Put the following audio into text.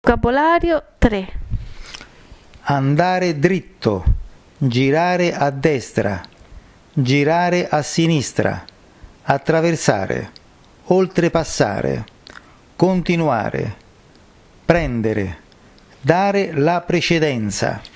Vocabolario 3. Andare dritto, girare a destra, girare a sinistra, attraversare, oltrepassare, continuare, prendere, dare la precedenza.